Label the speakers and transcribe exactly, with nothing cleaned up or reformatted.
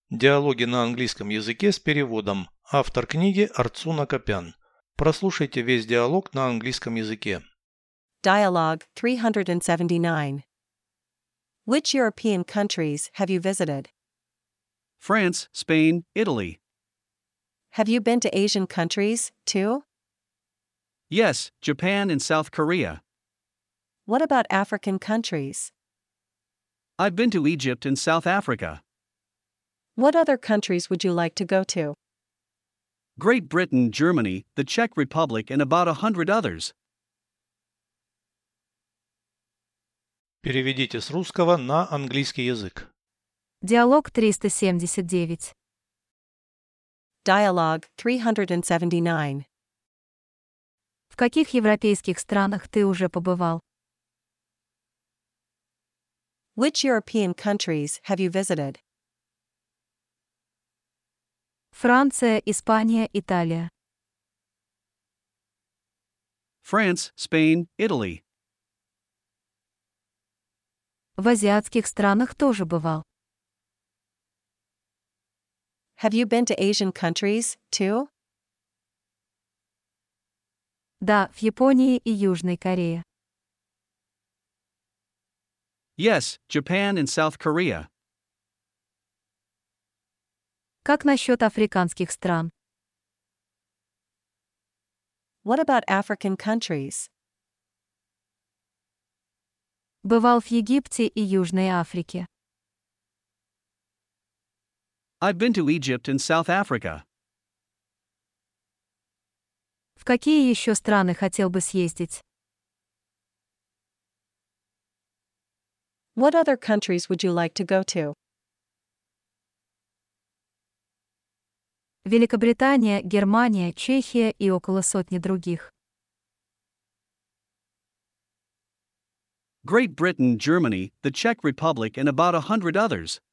Speaker 1: Диалоги на английском языке с переводом. Автор книги Арцуна Копян. Прослушайте весь диалог на английском языке.
Speaker 2: Dialogue three seventy-nine. Which European countries have you visited?
Speaker 3: France, Spain, Italy.
Speaker 2: Have you been to Asian countries, too?
Speaker 3: Yes, Japan and South Korea.
Speaker 2: What about African countries?
Speaker 3: I've been to Egypt and South Africa.
Speaker 2: What other countries would you like to go to?
Speaker 3: Great Britain, Germany, the Czech Republic and about a hundred others.
Speaker 1: Переведите с русского на английский язык.
Speaker 4: Диалог триста семьдесят девять.
Speaker 2: Dialogue three seventy-nine.
Speaker 4: В каких европейских странах ты уже побывал?
Speaker 2: Which European countries have you visited?
Speaker 4: Франция, Испания, Италия.
Speaker 3: France, Spain, Italy.
Speaker 4: В азиатских странах тоже бывал.
Speaker 2: Have you been to Asian countries, too?
Speaker 4: Да, в Японии и Южной Корее.
Speaker 3: Yes, Japan and South Korea.
Speaker 4: Как насчет африканских стран?
Speaker 2: What about African countries?
Speaker 4: Бывал в Египте и Южной Африке.
Speaker 3: I've been to Egypt and South Africa.
Speaker 4: В какие еще страны хотел бы съездить?
Speaker 2: What other countries would you like to go to?
Speaker 4: Великобритания, Германия, Чехия и около сотни других.
Speaker 3: Great Britain, Germany, the Czech Republic and about a hundred others.